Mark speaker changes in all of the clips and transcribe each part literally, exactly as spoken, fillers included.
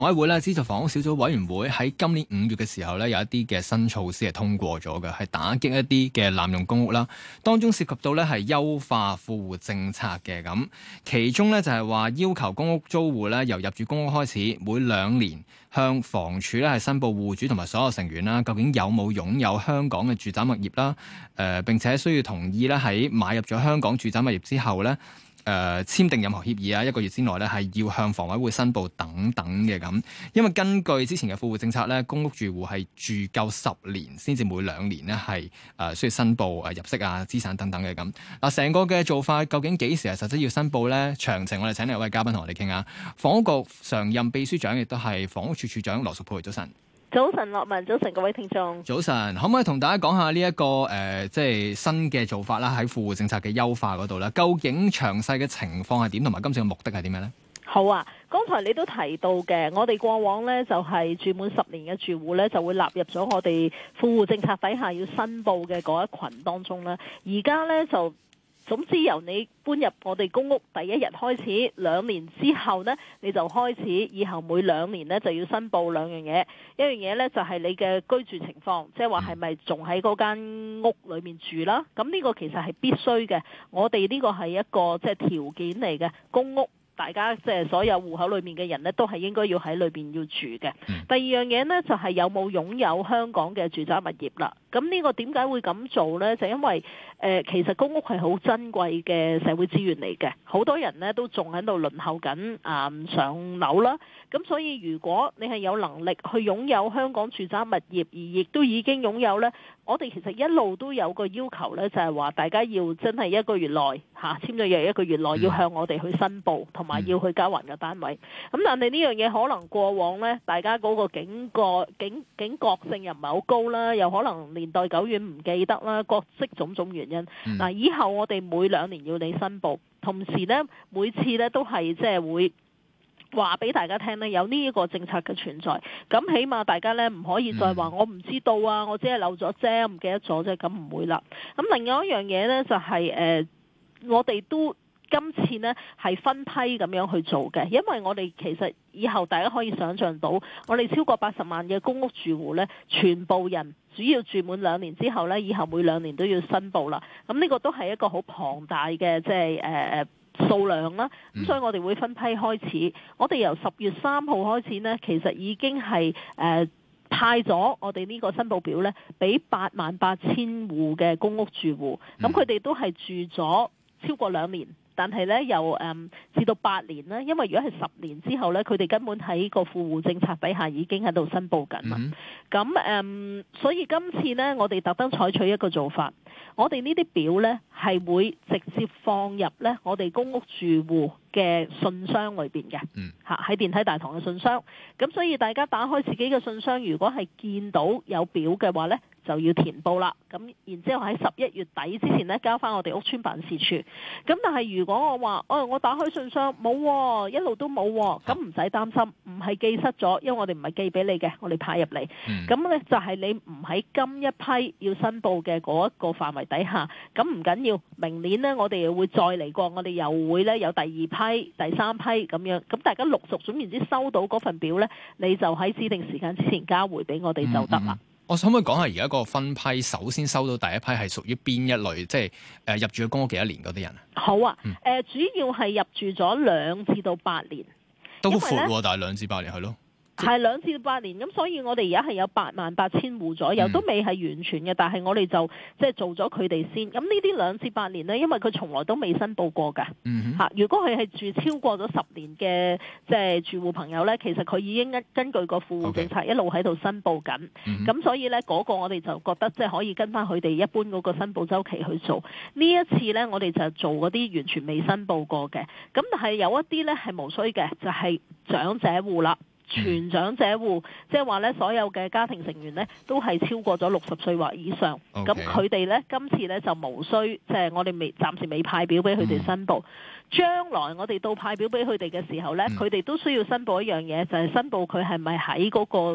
Speaker 1: 委會咧資助房屋小組委員會喺今年五月嘅時候咧，有一啲嘅新措施係通過咗嘅，係打擊一啲嘅濫用公屋啦。當中涉及到咧係優化富戶政策嘅咁，其中咧就係話要求公屋租戶咧由入住公屋開始，每兩年向房署咧係申報戶主同埋所有成員啦，究竟有冇擁有香港嘅住宅物業啦？誒、呃、並且需要同意咧喺買入咗香港住宅物業之後咧。誒、呃、簽訂任何協議啊，一個月之內咧係要向房委會申報等等嘅咁，因為根據之前嘅富戶政策咧，公屋住戶係住夠十年先至每兩年咧係誒需要申報誒入息啊、資產等等嘅咁。嗱，成個嘅做法究竟幾時係實質要申報咧？詳情我哋請嚟一位嘉賓同我哋傾下，房屋局常任秘書長亦都係房屋處處長羅淑佩，早晨。
Speaker 2: 早晨，樂文，早晨，各位聽眾。
Speaker 1: 早晨，可唔可以同大家講下呢、這、一個誒、呃，即係新嘅做法啦？喺富戶政策嘅優化嗰度咧，究竟詳細嘅情況係點，同埋今次嘅目的係點樣咧？
Speaker 2: 好啊，剛才你都提到嘅，我哋過往呢就係、是、住滿十年嘅住戶呢，就會納入咗我哋富戶政策底下要申報嘅嗰一群當中啦。而家呢就。總之由你搬入我哋公屋第一日開始，兩年之後呢，你就開始以後每兩年呢就要申報兩樣嘢。一樣嘢呢就係你嘅居住情況，即係話係咪仲喺嗰間屋裏面住啦？咁呢個其實係必須嘅，我哋呢個係一個即係條件嚟嘅，公屋。大家即係所有戶口裏面嘅人呢，都係應該要喺裏邊要住嘅。嗯、第二樣嘢呢，就係、是、有冇擁有香港嘅住宅物業啦。咁呢個點解會咁做呢？就因為誒、呃，其實公屋係好珍貴嘅社會資源嚟嘅，好多人呢都仲喺度輪候緊啊、呃、上樓啦。咁所以如果你係有能力去擁有香港住宅物業，而亦都已經擁有呢，我哋其實一路都有個要求呢，就係、是、話大家要真係一個月內嚇、啊、簽咗約一個月內要向我哋去申報，同埋要去交還嘅單位。咁但係呢樣嘢可能過往呢，大家嗰個警覺警警覺性又唔係好高啦，又可能年代久遠唔記得啦，各式種種原因。嗱、嗯，以後我哋每兩年要你申報，同時呢，每次呢都係即係會話俾大家聽呢，有呢一個政策嘅存在。咁起碼大家呢唔可以再話我唔知道啊，我只係漏咗啫，唔記得咗啫，咁唔會啦。咁另外一樣嘢呢，就係、是、誒、呃，我哋都。今次呢係分批咁樣去做嘅，因為我哋其實以後大家可以想像到，我哋超過八十萬嘅公屋住戶呢，全部人主要住滿兩年之後呢，以後每兩年都要申報啦。咁呢個都係一個好龐大嘅即係誒誒數量啦。咁所以我哋會分批開始，我哋由十月三號開始呢，其實已經係誒、呃、派咗我哋呢個申報表呢，俾八萬八千戶嘅公屋住戶，咁佢哋都係住咗超過兩年。但係咧，由誒、嗯、至到八年啦，因為如果係十年之後咧，佢哋根本喺個富戶政策底下已經喺度申報緊啦。咁誒、嗯，所以今次呢，我哋特登採取一個做法，我哋呢啲表咧係會直接放入咧我哋公屋住戶嘅信箱裏邊嘅，嚇喺、嗯、電梯大堂嘅信箱。咁所以大家打開自己嘅信箱，如果係見到有表嘅話咧，就要填報啦。咁然之後喺十一月底之前咧，交翻我哋屋邨辦事處。咁但係如果我話，哦，我打開信箱冇、哦，一路都冇、哦，咁唔使擔心，唔係寄失咗，因為我哋唔係寄俾你嘅，我哋派入嚟。咁咧、嗯、就係你唔喺今一批要申報嘅嗰一個範圍底下，咁唔緊要，明年呢，我哋又會再嚟過，我哋又會咧有第二批、第三批咁樣。咁大家陸續總言之收到嗰份表咧，你就喺指定時間之前交回俾我哋就得啦。嗯嗯
Speaker 1: 我可唔可以講下而家個分批？首先收到第一批係屬於邊一類？即係誒、呃、入住咗公屋幾多年嗰啲人啊？
Speaker 2: 好啊，誒、呃、主要係入住咗兩至到八年，
Speaker 1: 都闊喎，但係兩至八年係咯。
Speaker 2: 係兩至八年，咁所以我哋而家係有八萬八千戶左右，嗯、都未係完全嘅，但係我哋就即係做咗佢哋先。咁呢啲兩至八年呢，因為佢從來都未申報過㗎。嚇、嗯哼，如果佢係住超過咗十年嘅即係住戶朋友呢，其實佢已經根根據個富戶政策一路喺度申報緊。咁、嗯、哼所以呢，嗰、嗰個我哋就覺得即係可以跟翻佢哋一般嗰個申報週期去做。呢一次呢，我哋就做嗰啲完全未申報過嘅。咁但係有一啲呢係無需嘅，就係、是、長者戶啦。全長者戶，即係話咧，所有嘅家庭成員咧都係超過咗六十歲或以上。咁佢哋咧今次咧就無需，即係我哋未暫時未派表俾佢哋申報。嗯、將來我哋到派表俾佢哋嘅時候咧，佢哋、嗯、都需要申報一樣嘢，就係、是、申報佢係咪喺嗰個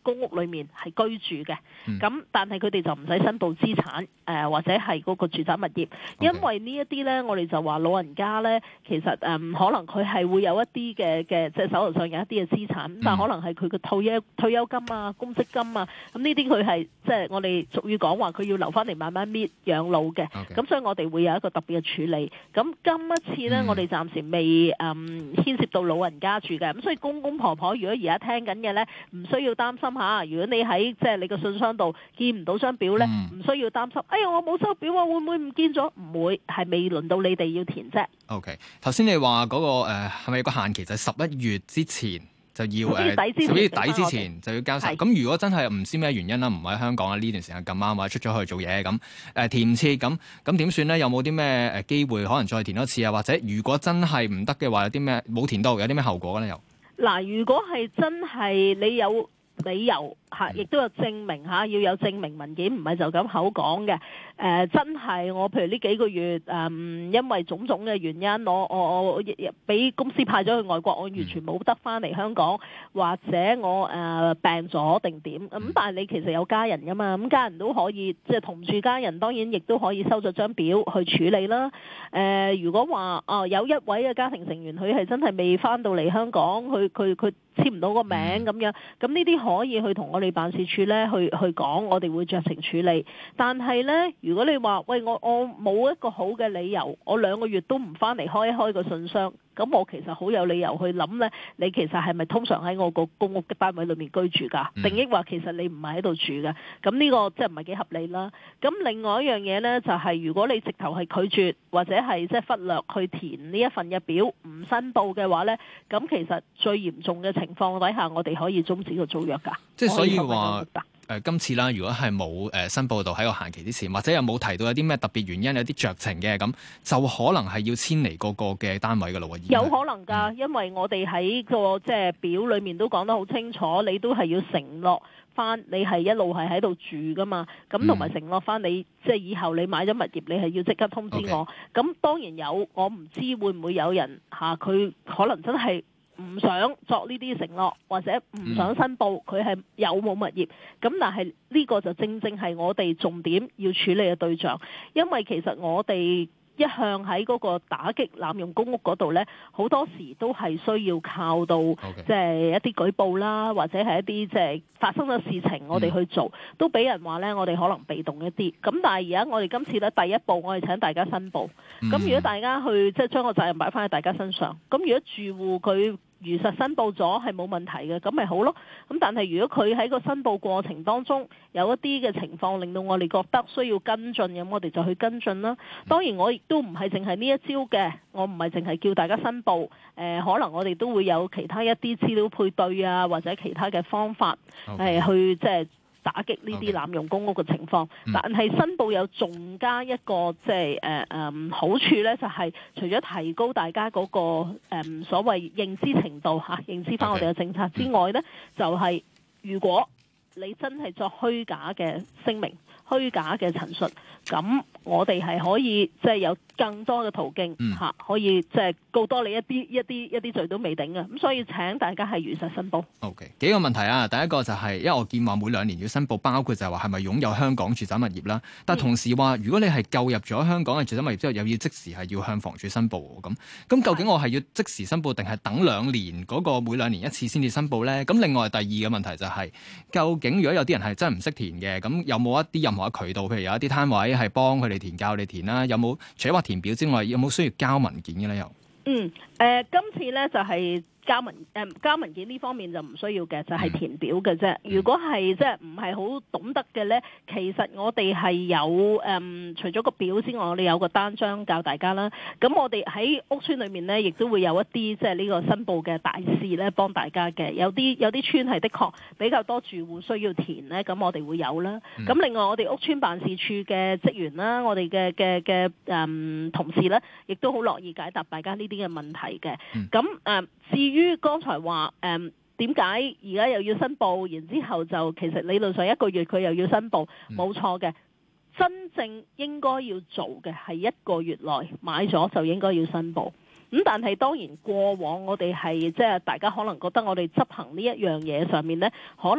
Speaker 2: 公屋裏面係居住嘅，咁、
Speaker 1: 嗯、
Speaker 2: 但係佢哋就唔使申報資產誒、呃、或者係嗰個住宅物業，因為呢一啲咧，我哋就話老人家咧，其實誒、嗯、可能佢係會有一啲嘅嘅即係手頭上有一啲嘅資產，嗯、但係可能係佢嘅退休退休金啊、公積金啊，咁呢啲佢係即係我哋俗語講話佢要留翻嚟慢慢搣養老嘅，咁
Speaker 1: Okay.
Speaker 2: 所以我哋會有一個特別嘅處理。咁今一次咧，嗯、我哋暫時未誒、嗯、牽涉到老人家住嘅，咁所以公公婆婆如果而家聽緊嘅咧，唔需要擔心嚇。如果你喺即係你個信箱度見唔到張表咧，唔、嗯、需要擔心。哎呀，我冇收表啊，會唔會唔見咗？唔會，係未輪到你哋要填啫。
Speaker 1: OK，頭先你話嗰、那個誒係咪有個限期，就係十一月之前就要誒，十一月底之前就要交晒。咁如果真係唔知咩原因啦，唔喺香港啊呢段時間咁啱或者出咗去做嘢咁誒填唔切咁，咁點算咧？有冇啲咩誒機會可能再填多次啊？或者如果真係唔得嘅話，有啲咩冇填到，有啲咩後果咧？又
Speaker 2: 嗱，如果係真係你有理由嚇，亦都有證明嚇，要有證明文件，唔係就咁口講嘅。誒、呃，真係我譬如呢幾個月誒、嗯，因為種種嘅原因，我我我俾公司派咗去外國，我完全冇得翻嚟香港，或者我誒、呃、病咗定點咁。但係你其實有家人噶嘛，咁家人都可以即係同住家人，當然亦都可以收咗張表去處理啦。誒、呃，如果話哦、呃、有一位嘅家庭成員佢係真係未翻到嚟香港，佢佢佢簽唔到個名咁樣，咁呢啲可以去同我哋辦事處咧去去講，我哋會酌情處理。但係咧，如果你話喂，我我冇一個好嘅理由，我兩個月都唔翻嚟開一開個信箱，咁我其實好有理由去諗咧，你其實係咪通常喺我個公屋嘅單位裏面居住㗎？定抑或其實你唔係喺度住嘅？咁呢個即係唔係幾合理啦？咁另外一樣嘢咧，就係、是、如果你直頭係拒絕或者係即係忽略去填呢一份嘅表，唔申報嘅話咧，咁其實最嚴重嘅情況底下，我哋可以終止個租約㗎。
Speaker 1: 即係所以話。誒、呃、今次啦，如果係冇誒申報到喺個限期之前，或者有冇提到有啲咩特別原因，有啲酌情嘅咁，就可能係要遷離嗰個嘅單位嘅咯喎。
Speaker 2: 有可能㗎，嗯、因為我哋喺個即係表裏面都講得好清楚，你都係要承諾翻，你係一路係喺度住㗎嘛。咁同埋承諾翻你，即係以後你買咗物業，你係要即刻通知我。咁 Okay. 當然有，我唔知會唔會有人嚇佢、啊、可能真係。唔想作呢啲承諾，或者唔想申報佢係有冇物業，咁但係呢個就正正係我哋重點要處理嘅對象，因為其實我哋一向喺嗰個打擊濫用公屋嗰度呢，好多時都係需要靠到即係一啲舉報啦，或者係一啲即係發生咗事情，我哋去做，嗯、都俾人話呢，我哋可能被動一啲。咁但係而家我哋今次呢，第一步，我哋請大家申報。咁、嗯、如果大家去即係將個責任擺翻喺大家身上，咁如果住戶佢如實申報咗係冇問題嘅，咁咪好咯。咁但係如果佢喺個申報過程當中有一啲嘅情況令到我哋覺得需要跟進，咁我哋就去跟進啦。當然我亦都唔係淨係呢一招嘅，我唔係淨係叫大家申報。誒、呃，可能我哋都會有其他一啲資料配對啊，或者其他嘅方法誒 Okay.、呃、去即係打擊呢啲濫用公屋嘅情況。Okay. 但係申報有仲加一個即係誒誒好處咧，就係、是、除咗提高大家嗰、那個誒、呃、所謂認知程度嚇、啊，認知翻我哋嘅政策之外咧，Okay. 就係如果你真係作虛假嘅聲明、虛假嘅陳述，咁我哋係可以即係有更多嘅途徑嚇、嗯啊，可以即係告多你一啲一啲一啲罪都未定嘅。咁所以請大家係如實申報。
Speaker 1: OK， 幾個問題啊。第一個就係、是、因為我見話每兩年要申報，包括就係話係咪擁有香港住宅物業啦。但係同時話，如果你係購入咗香港嘅住宅物業之後，又要即時係要向房署申報咁。咁究竟我係要即時申報，定係等兩年嗰、那個每兩年一次先至申報咧？咁另外第二個問題就係、是，究竟如果有啲人係真係唔識填嘅，咁有冇一啲任何嘅渠道，譬如有一啲攤位係幫佢哋填，教你填啦？有冇除咗話填表之外，有冇需要交文件嘅咧？又
Speaker 2: 嗯誒、呃，今次咧就係、是。交文誒、呃、交文件呢方面就唔需要嘅，就係、是、填表嘅啫。如果係即係唔係好懂得嘅呢，其實我哋係有誒、嗯，除咗個表之外，我哋有個單張教大家啦。咁我哋喺屋邨裏面呢，亦都會有一啲即係呢個申報嘅大使呢，幫大家嘅。有啲有啲邨係的確比較多住戶需要填呢，咁我哋會有啦。咁、嗯、另外我哋屋邨辦事處嘅職員啦，我哋嘅嘅嘅誒同事呢，亦都好樂意解答大家呢啲嘅問題嘅。咁誒、嗯、至於於剛才話誒點解而家又要申報，然之後就其實理論上一個月佢又要申報，冇錯嘅。真正應該要做嘅係一個月內買咗就應該要申報。咁但係當然過往我哋係即係大家可能覺得我哋執行呢一樣嘢上面呢，可能唔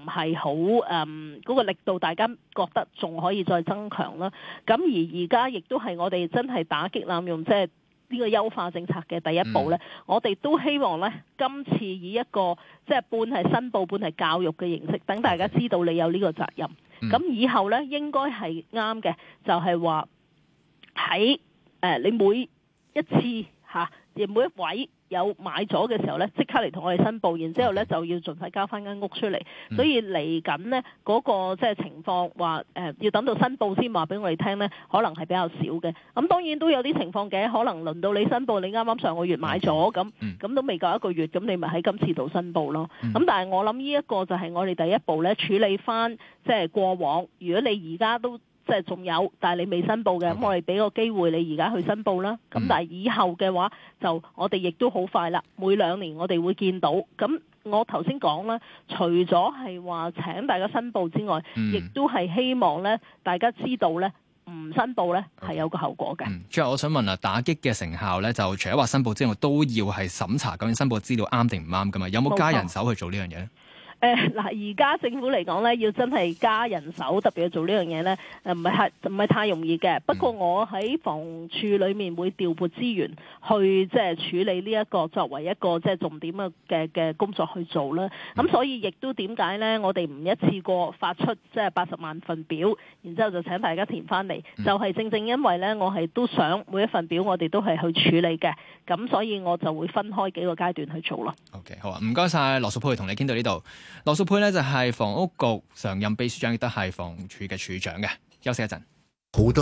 Speaker 2: 係好誒嗰個力度，大家覺得仲可以再增強啦。咁而而家亦都係我哋真係打擊濫用，即係呢個優化政策嘅第一步咧。嗯、我哋都希望咧，今次以一個即係半係申報、半係教育嘅形式，等大家知道你有呢個責任。咁、嗯、以後咧應該係啱嘅，就係話喺誒你每一次嚇，亦、啊、每一位有買咗嘅時候咧，即刻嚟同我哋申報，然之後咧就要盡快交翻間屋出嚟。嗯、所以嚟緊呢嗰個即係情況話誒、呃，要等到申報先話俾我哋聽咧，可能係比較少嘅。咁當然都有啲情況嘅，可能輪到你申報，你啱啱上個月買咗咁，咁、嗯、都未夠一個月，咁你咪喺今次度申報咯。咁、嗯、但係我諗呢一個就係我哋第一步咧，處理翻即係過往。如果你而家都即係仲有，但係你未申報嘅，咁 Okay. 我哋俾個機會你而家去申報啦。咁、嗯、但係以後嘅話，就我哋亦都好快啦。每兩年我哋會見到。咁我頭先講啦，除咗係話請大家申報之外，亦、嗯、都係希望咧大家知道咧，唔申報咧係 Okay. 有個後果嘅。嗯，
Speaker 1: 最後我想問啊，打擊嘅成效咧，就除咗話申報之外，都要係審查究竟申報資料啱定唔啱噶嘛？有冇加人手去做呢樣嘢咧？
Speaker 2: 誒嗱，而家、呃、政府嚟講咧，要真係加人手，特別去做呢樣嘢咧，誒唔係太唔係太容易嘅。不過我喺房署裏面會調撥資源去即係處理呢、這、一個作為一個即係重點嘅嘅嘅工作去做啦。咁所以亦都點解咧？我哋唔一次過發出即係八十萬份表，然之後就請大家填翻嚟，就係、是、正正因為咧，我係都想每一份表我哋都係去處理嘅。咁所以我就會分開幾個階段去做咯。
Speaker 1: OK， 好啊，唔該晒羅淑佩，同你傾到呢度。羅淑佩咧就係房屋局常任秘書長，亦都係房署嘅署長嘅。休息一陣。好多